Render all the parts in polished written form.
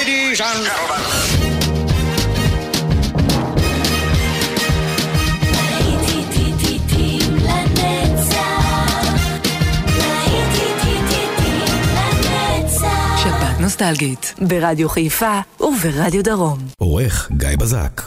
Ladies and gentlemen. שבת נוסטלגית ברדיו חיפה וברדיו דרום. עורך גיא בזק.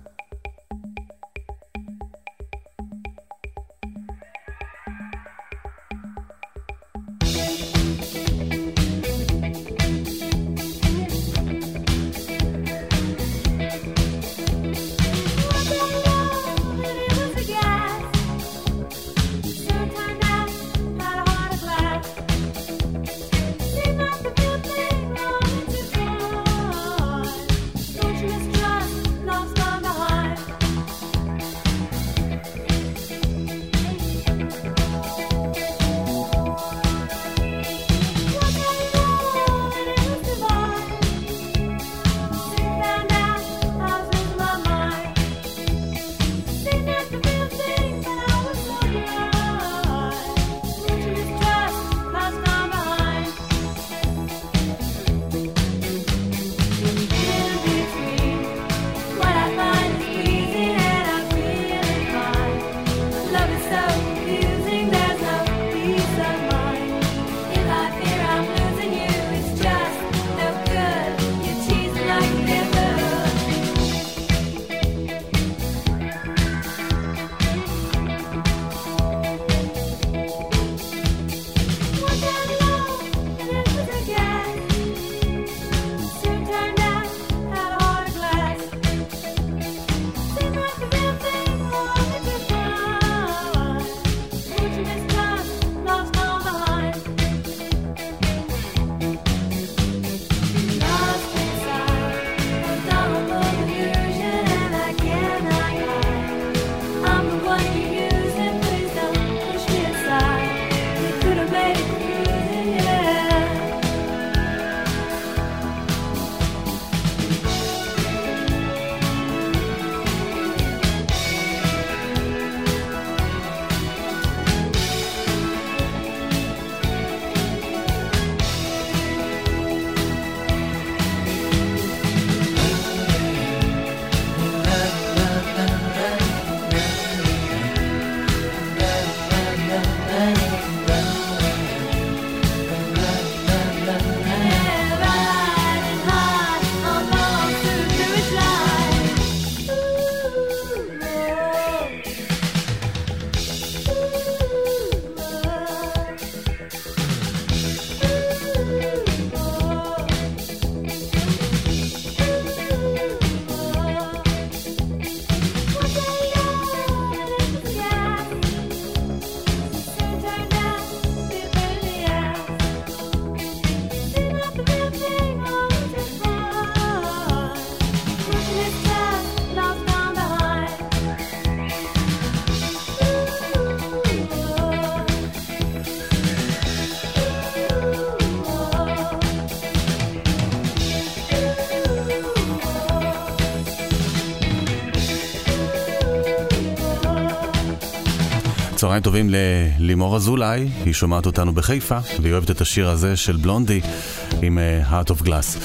צהריים טובים ללימור אזולאי, היא שומעת אותנו בחיפה והיא אוהבת את השיר הזה של בלונדי עם Heart of Glass.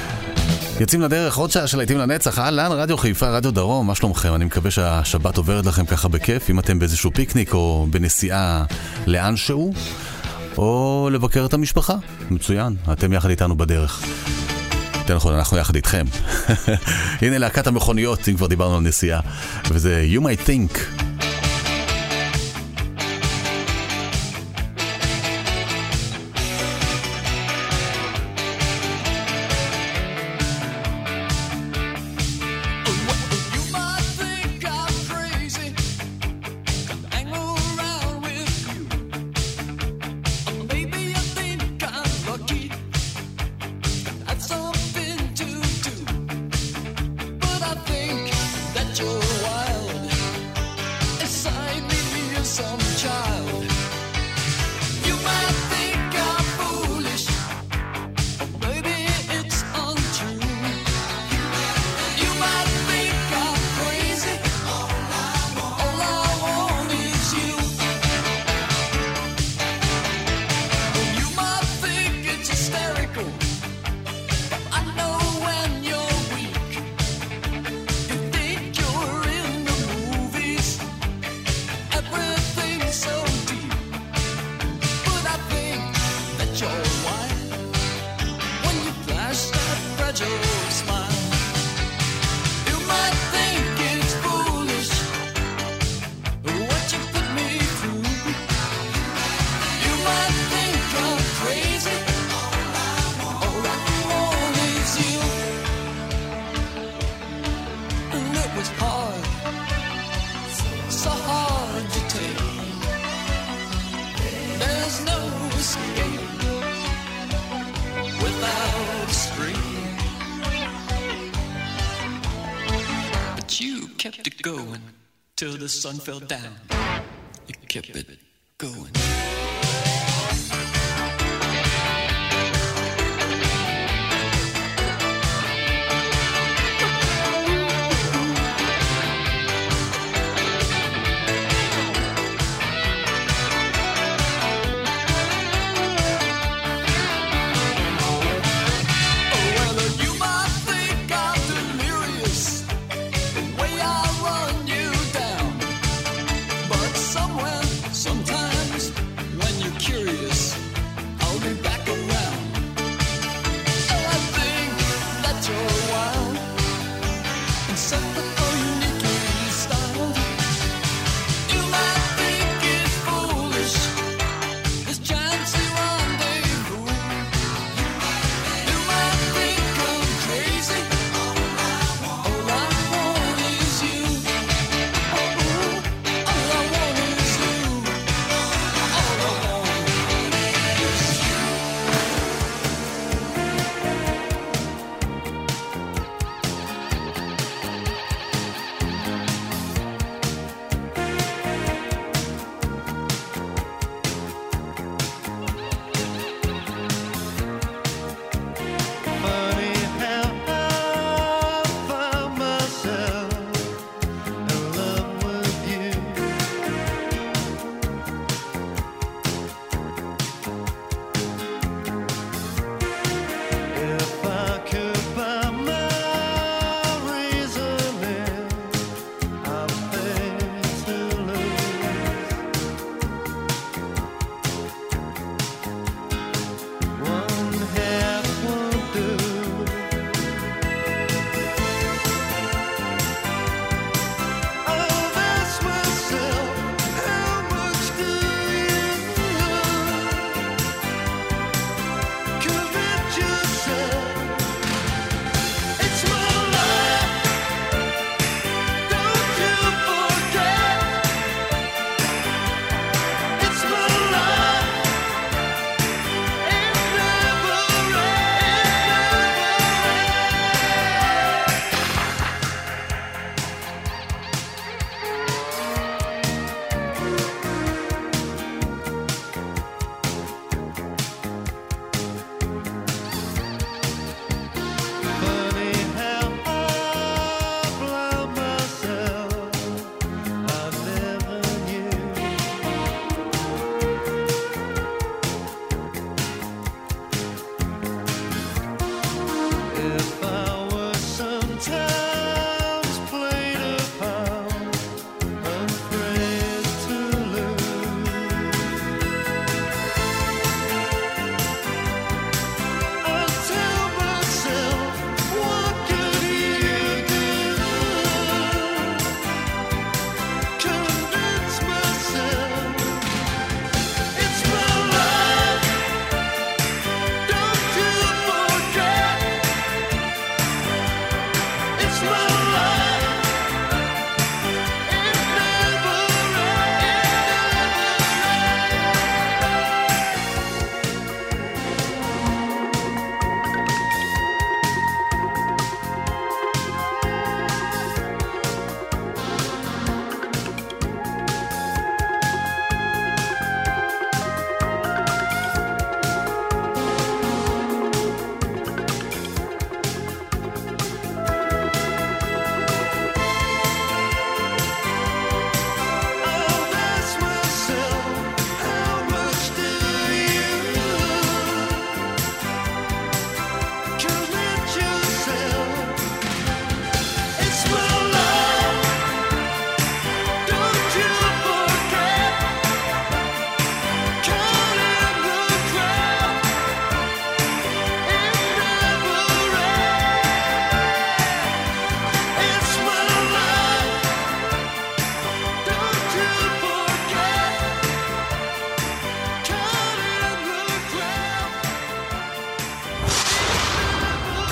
יוצאים לדרך, עוד שעה של להיטים לנצח. אהלן, רדיו חיפה, רדיו דרום, מה שלומכם? אני מקווה שהשבת עוברת לכם ככה בכיף, אם אתם באיזשהו פיקניק או בנסיעה לאנשהו או לבקר את המשפחה. מצוין, אתם יחד איתנו בדרך. יותר נכון, אנחנו יחד איתכם. הנה להקת המכוניות, אם כבר דיברנו על נסיעה, וזה You Might Think. That you're wild. fragile smile. You might think it's foolish what you put me through. You might think I'm crazy. All I want is you. And it was hard, so hard to take. There's no escape without a scream. But you kept it going till the sun fell down. You kept it going.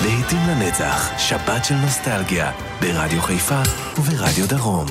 לעתים לנצח, שבת של נוסטלגיה, ברדיו חיפה וברדיו דרום.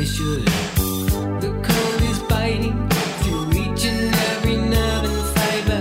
The cold is biting, still reaching every nerve inside.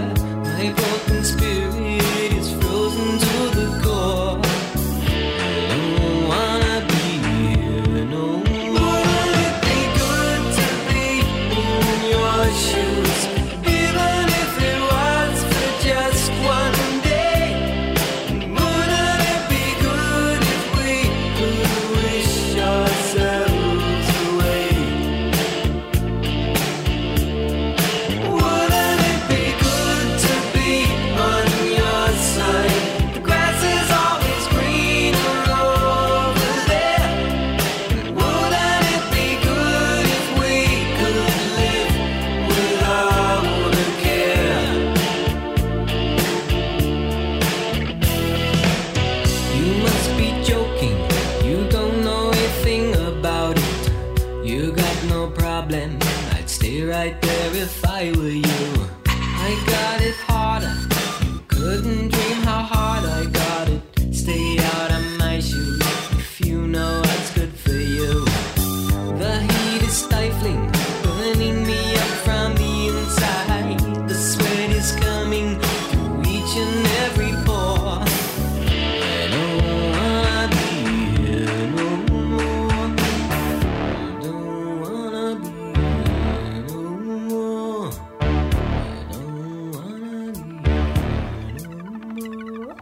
got it harder. Couldn't dream how hard I got it. Stay out of my shoes if you know what's good for you. The heat is stifling, burning me up from the inside. The sweat is coming through each and every pore. I don't wanna be here no more. I don't wanna be here no more. I don't wanna be here no more.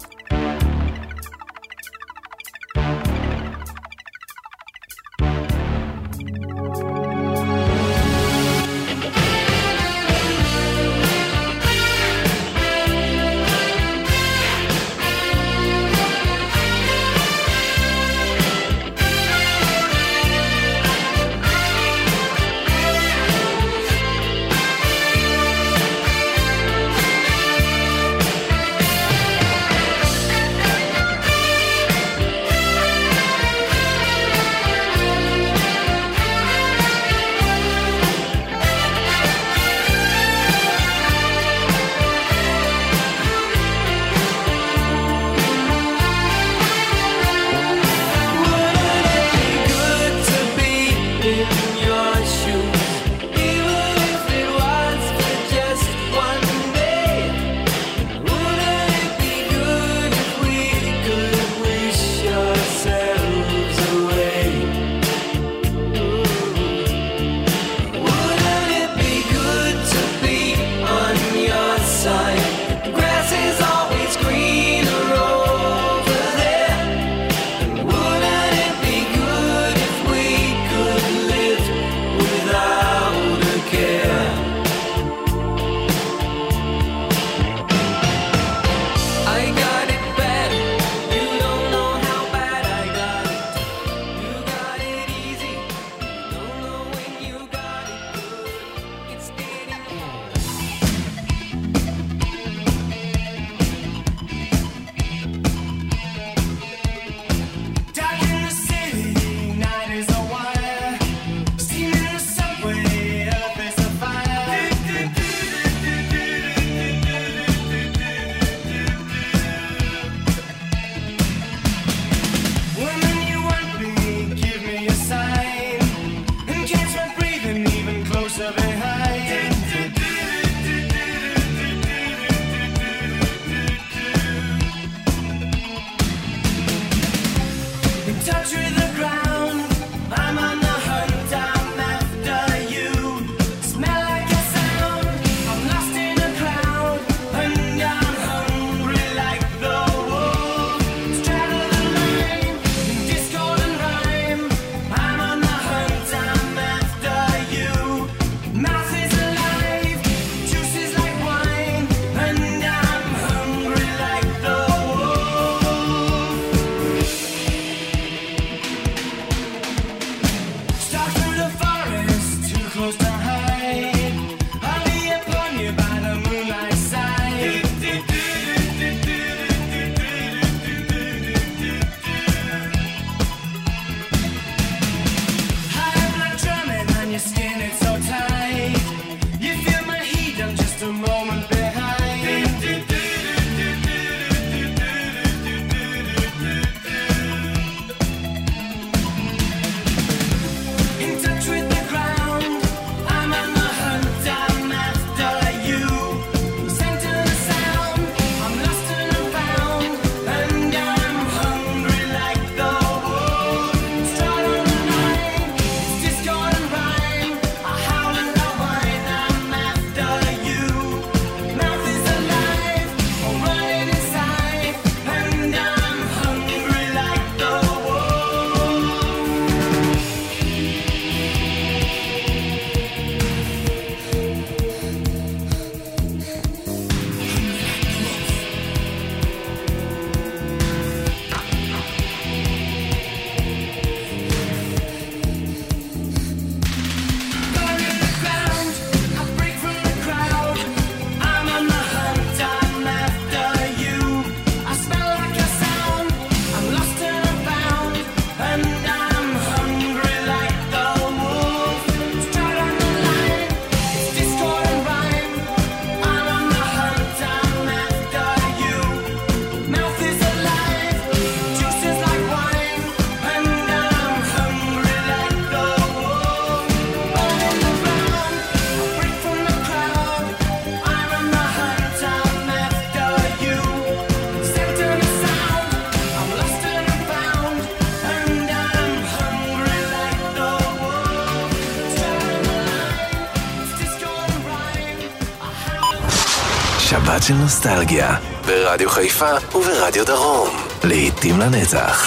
של נוסטלגיה, ברדיו חיפה וברדיו דרום. לעתים לנצח.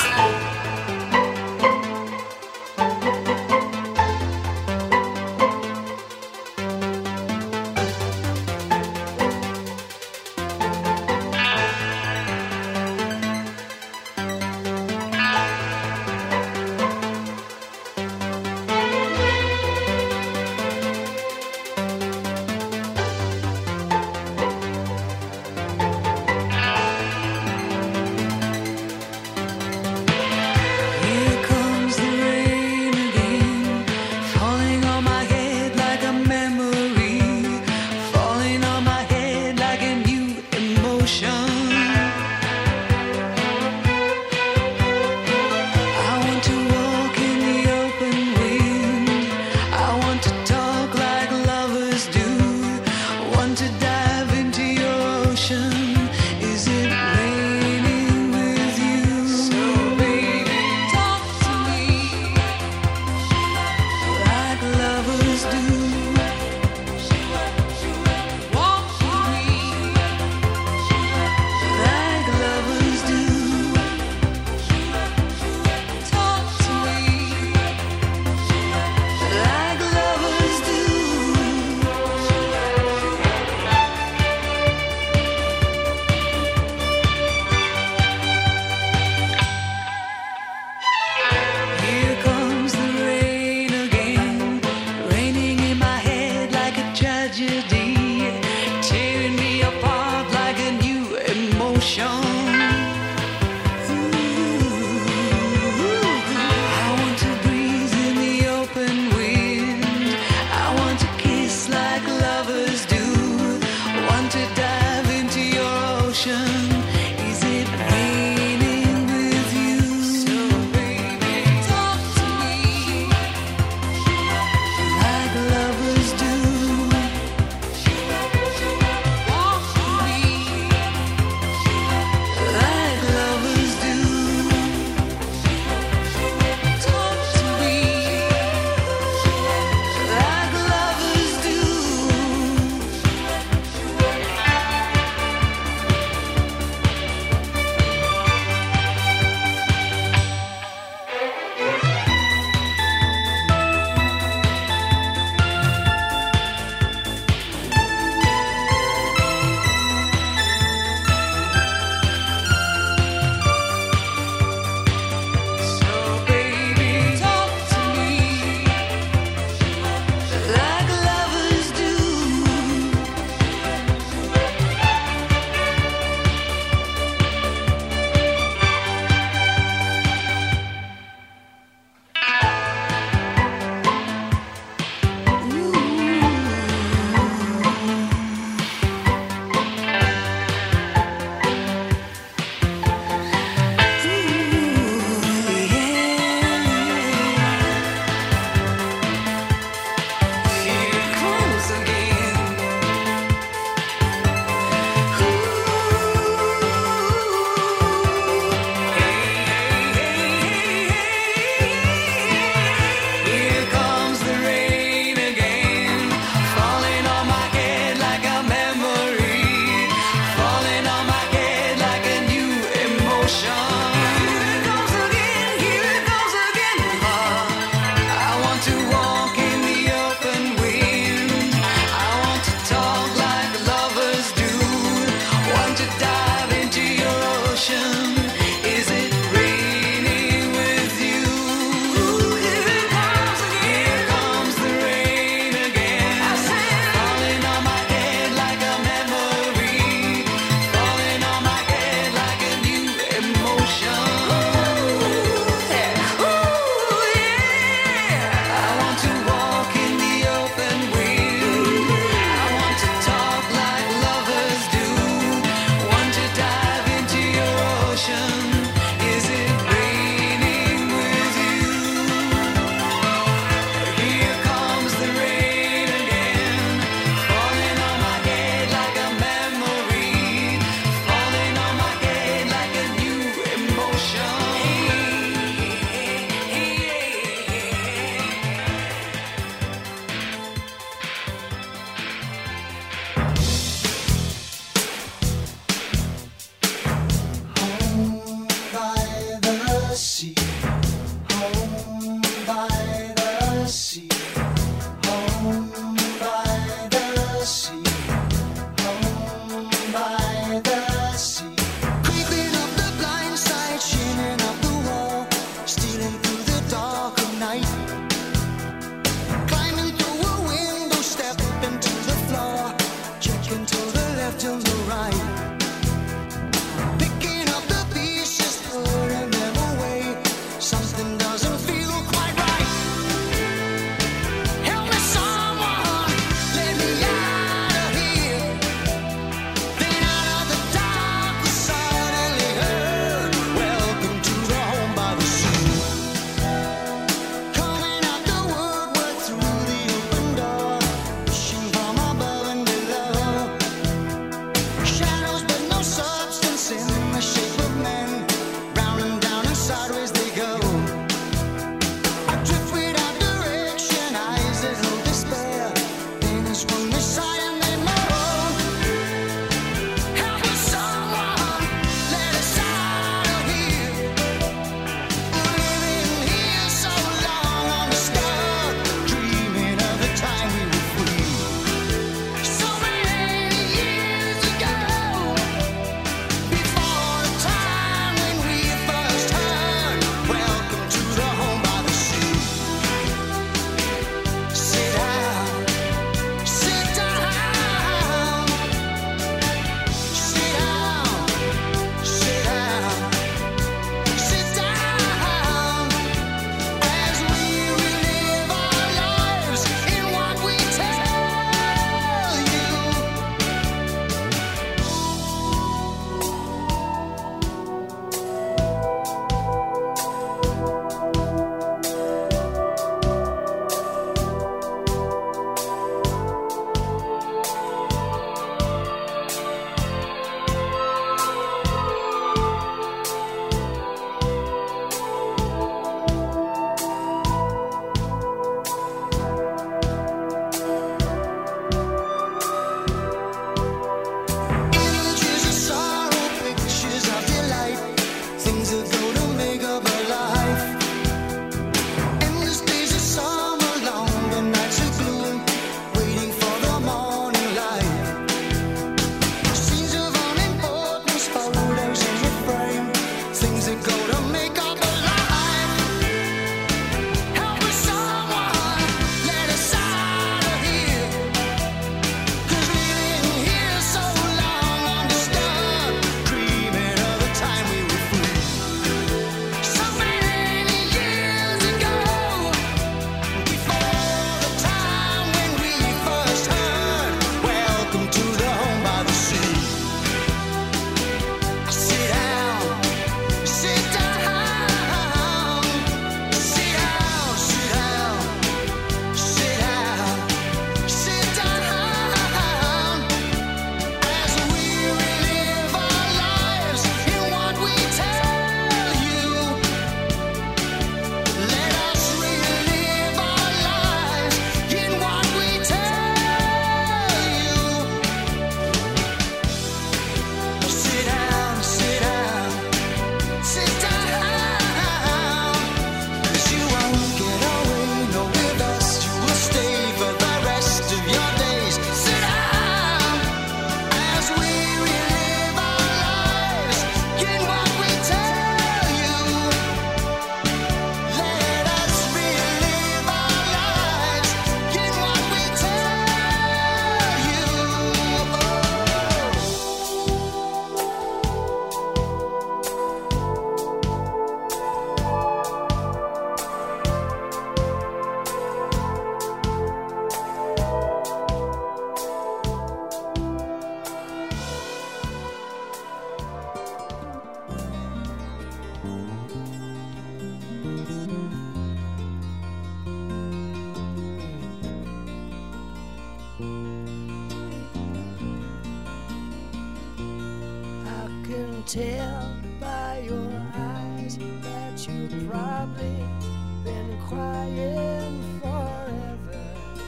tell by your eyes that you've probably been crying forever.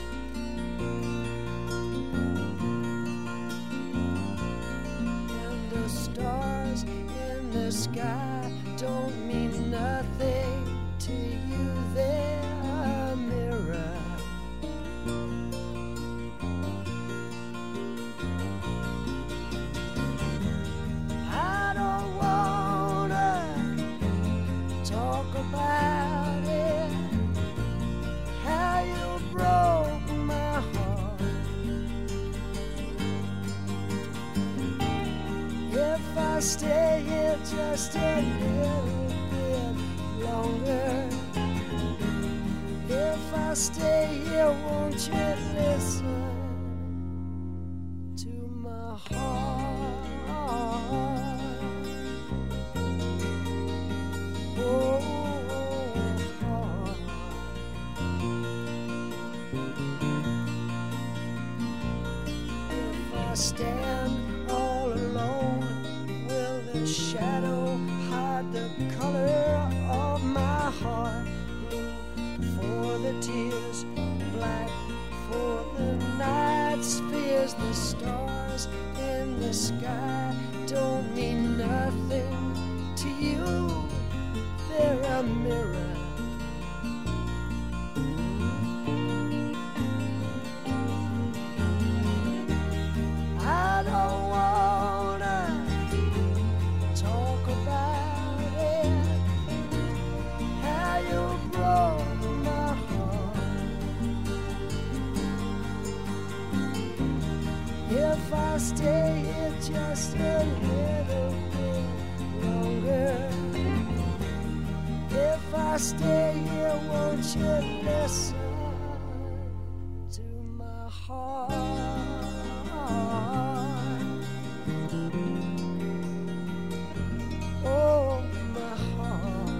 And the stars in the sky don't mean nothing to you, they're a mirror. I don't wanna talk about it, how you broke my heart. If I stay here just a little bit longer, if I stay here, won't you listen to my heart? Oh, heart. If I stand all alone, will the shadow hide the color of my heart? For the tears, black for the night's fears. The stars in the sky don't mean nothing to you, they're a mirror. I don't wanna talk about it, how you broke my heart. If I stay here just a little bit longer, if I stay here, won't you listen to my heart? Oh, my heart.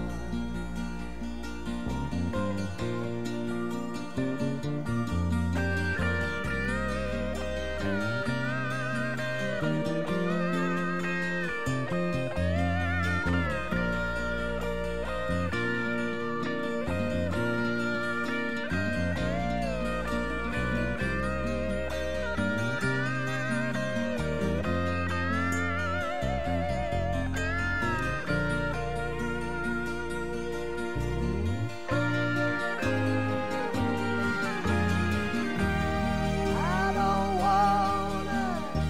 I don't wanna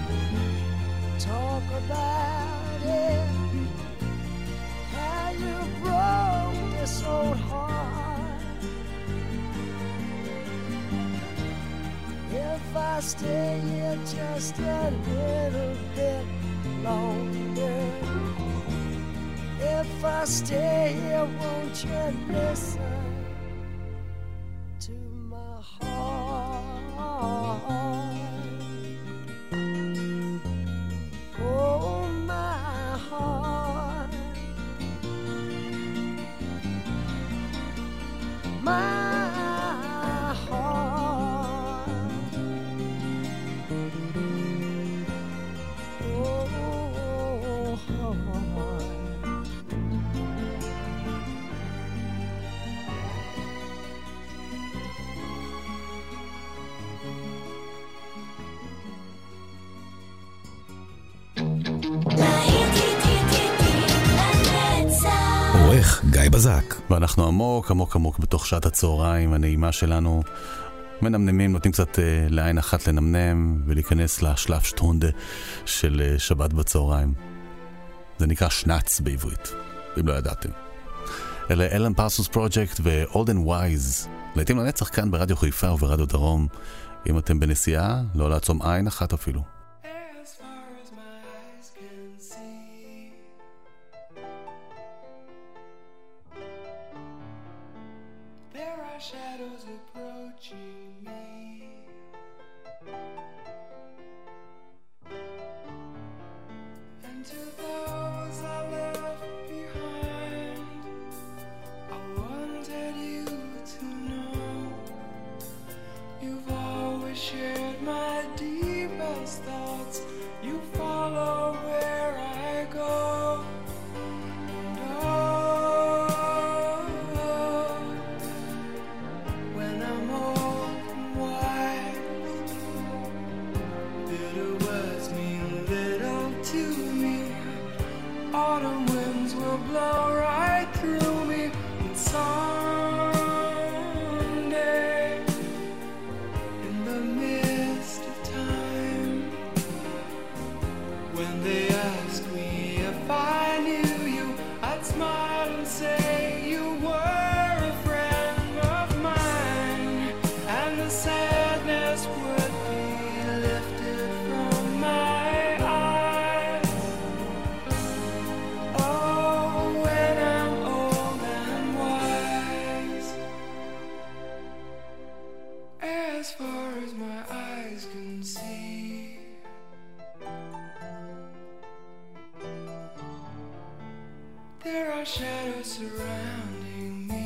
talk about it, how you broke this old heart. If I stay here just a little bit longer, if I stay here, won't you listen to my heart? Oh, my heart. My heart. Oh, heart. עורך גיא בזק. ואנחנו עמוק עמוק עמוק בתוך שעת הצהריים הנעימה שלנו, מנמנמים, נותנים קצת לעין אחת לנמנם ולהיכנס לשלב שטונדה של שבת בצהריים. זה נקרא שנץ בעברית, אם לא ידעתם. אלה אלן פרסוס פרוג'קט ו-Old and Wise, לעתים לנצח כאן ברדיו חיפה וברדיו דרום. אם אתם בנסיעה, לא לעצום עין אחת אפילו. Shadows approaching me, and to those I left behind, I wanted you to know you've always shared my deepest thoughts. Autumn winds will blow right through me. And someday, in the midst of time, when they ask me if I knew you, I'd smile and say you were a friend of mine, and the sadness would be lifted from my eyes. Oh, when I'm old and wise, as far as my eyes can see, there are shadows surrounding me.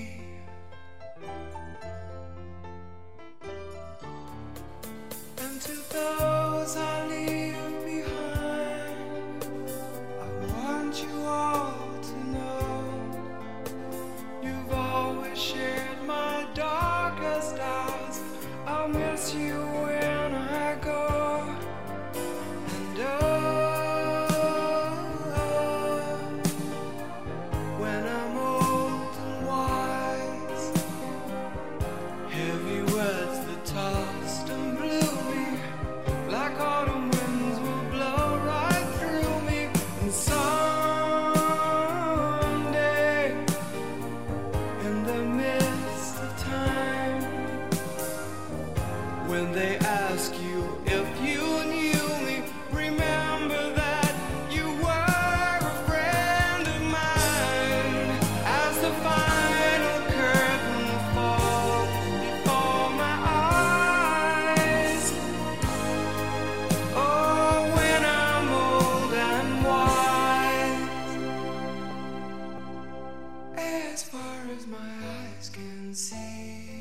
And to those I leave behind, I want you all to know you've always shared my darkest hours. I'll miss you when I go. And when I'm old and wise, heavy words that tossed and blew me, like autumn winds will blow right through me. And someday, in the midst of time, when they ask you if you knew me, remember that you were a friend of mine. As the final curtain falls before my eyes, oh, when I'm old and wise, as far as my eyes can see.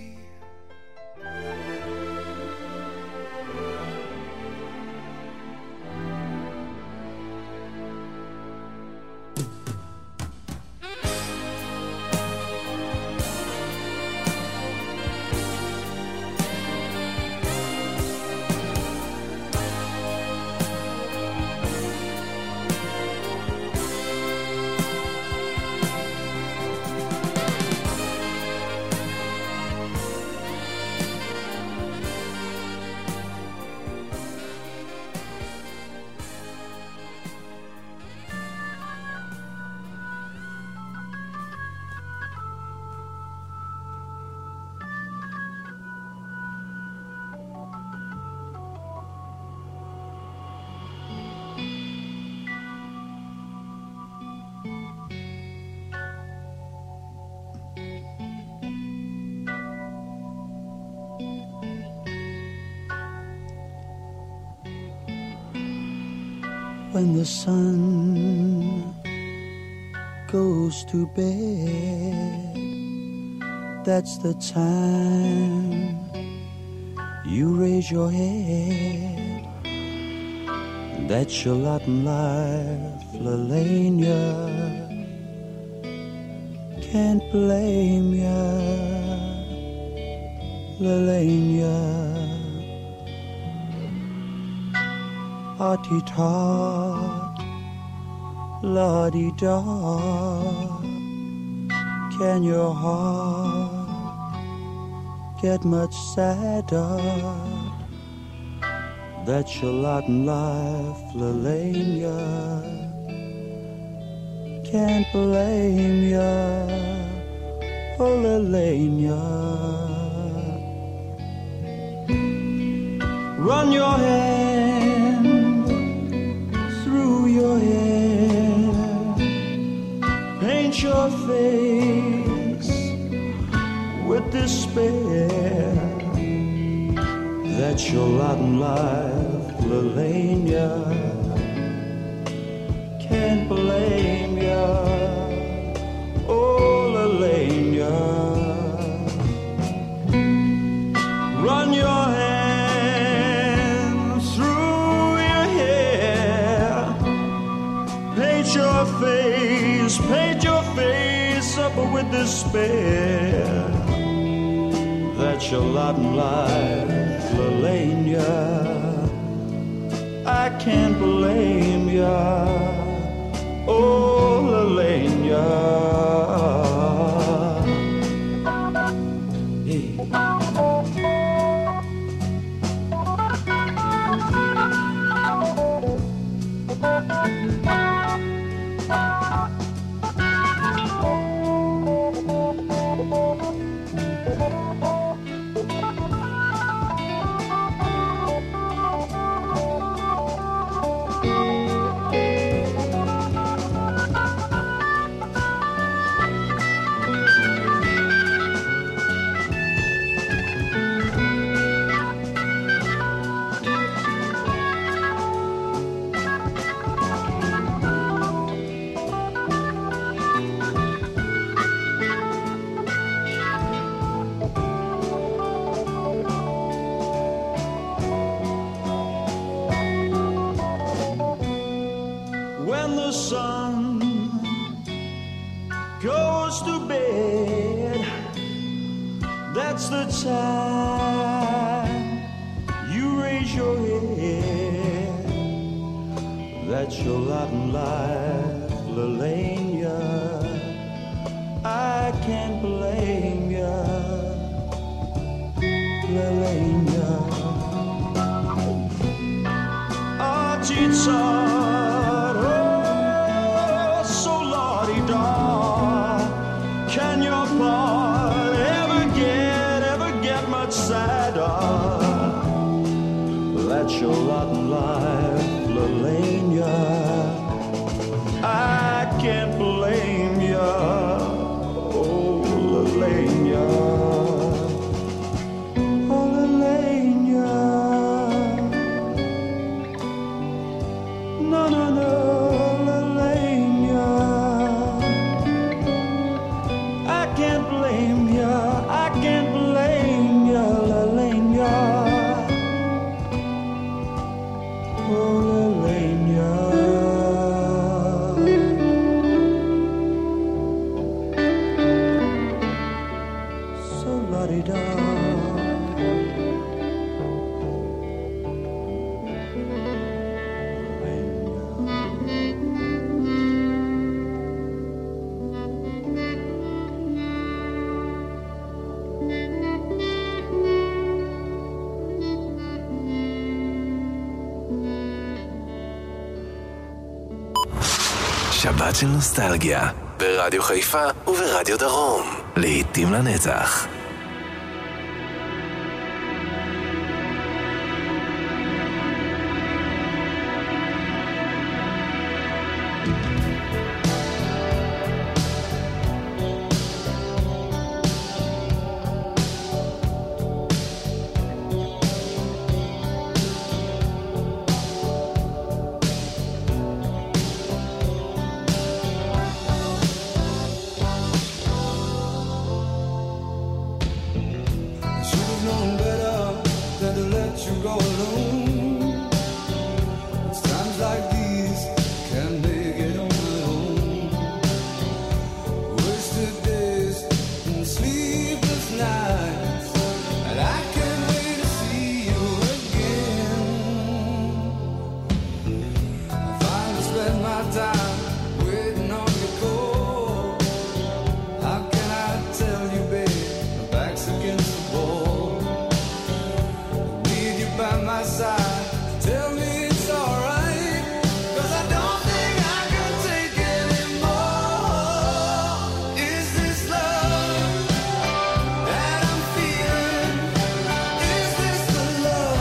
When the sun goes to bed, that's the time you raise your head. That's your lot in life, Lelania. Can't blame ya, Lelania. Hearty-tot, la-di-da. Can your heart get much sadder? That's your lot in life, Lelania. Can't blame ya, oh Lelania. Run your hand through your hair, paint your face with despair. That's your lot in life, Lelania. Can't blame ya, oh Lelania. Run your hand through your hair, paint your face up with despair. That's your lot in life, Lelania. I can't blame ya, When the sun goes to bed, that's the time you raise your head. That's your lot in life, Lelania. I can't blame ya, Lelania. Artitsa. Can your part ever get much sadder? That's your lot in life, Lelania. I can't blame ya, oh Lelania, oh Lelania. No, no, no. שבת של נוסטלגיה, ברדיו חיפה וברדיו דרום. לעתים לנצח.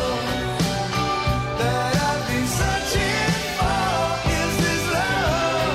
That I've been searching for, is this love?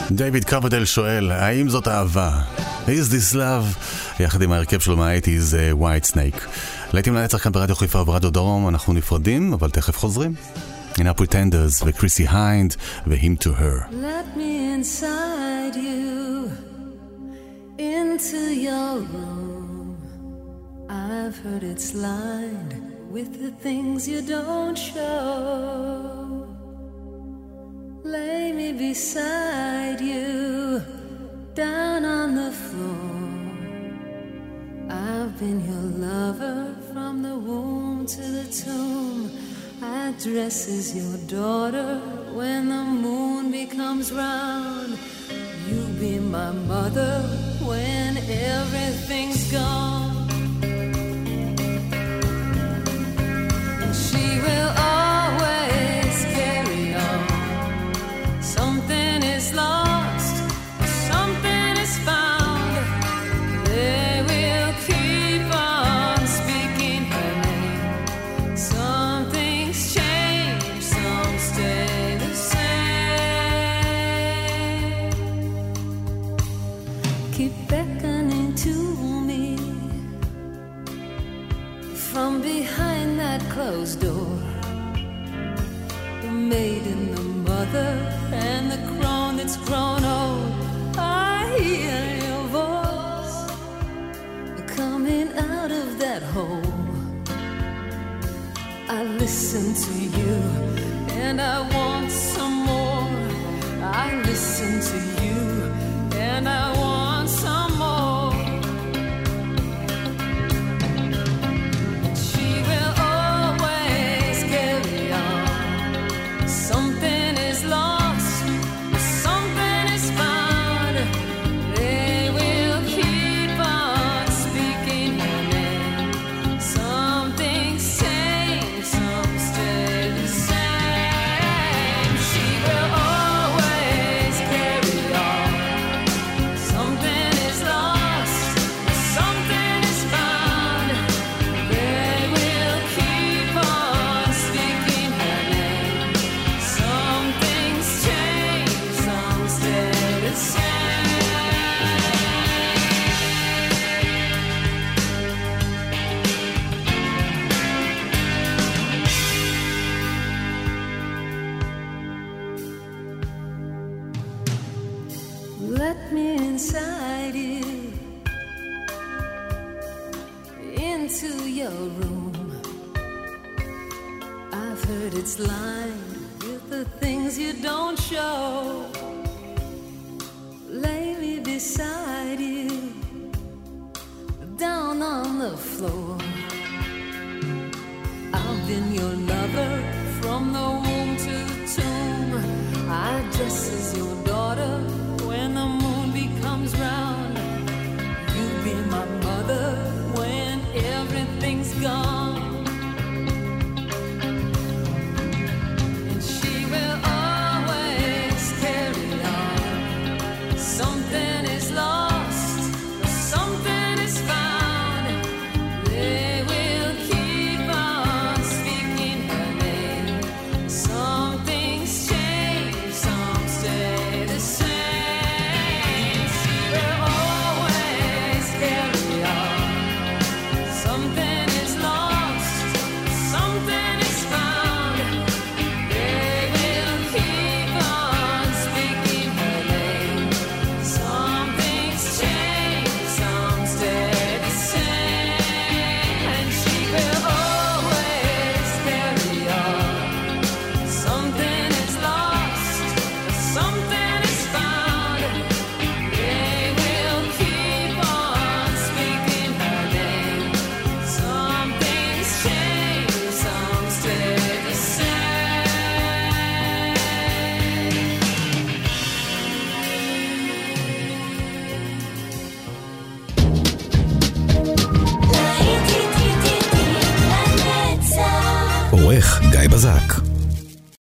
דיוויד קרבדל שואל, האם זאת אהבה? Is this love? יחד עם ההרכב שלו מה-80s, White Snake. להיטים לנצח כאן ברדיו חיפה וברדיו דרום, אנחנו נפרדים, אבל תכף חוזרים. הנה הפריטנדרס וקריסי היינד ו-Him to Her. Let me inside you, into your room. I've heard it's lined with the things you don't show. Lay me beside you, down on the floor. I've been your lover from the womb to the tomb. I dress as your daughter when the moon becomes round. You be my mother when everything's gone. And she will always carry on. Something is lost, something is found. They will keep on speaking her name. Some things change, some stay the same. Keep beckoning to me from behind that closed door. The maiden, the mother, and the crone that's grown old. I hear your voice coming out of that hole. I listen to you and I want some more. I listen to you and I want some more. She will always carry on. Something is lost, something is found. They will keep on speaking her name. Some things change, some stay the same. She will always carry on. Something is lost, something is found. They will keep on speaking her name. Some things change, some stay the same. Let me inside you, into your room. I've heard it's lined with the things you don't show. Lay me beside you, down on the floor. I've been your lover from the womb to the tomb. I dress as your daughter when the moon becomes round. You be my mother when everything's gone. And she will always carry on. Something is lost, something is found. They will keep on speaking her name. Some things change, some stay the same. She will always carry on. Something is lost, something is found. They will keep on speaking her name. Some things change, some stay the same. And she will always carry on. Something is lost, something is found. They will keep on speaking her name. Some things change, some stay the עורך גיא בזק.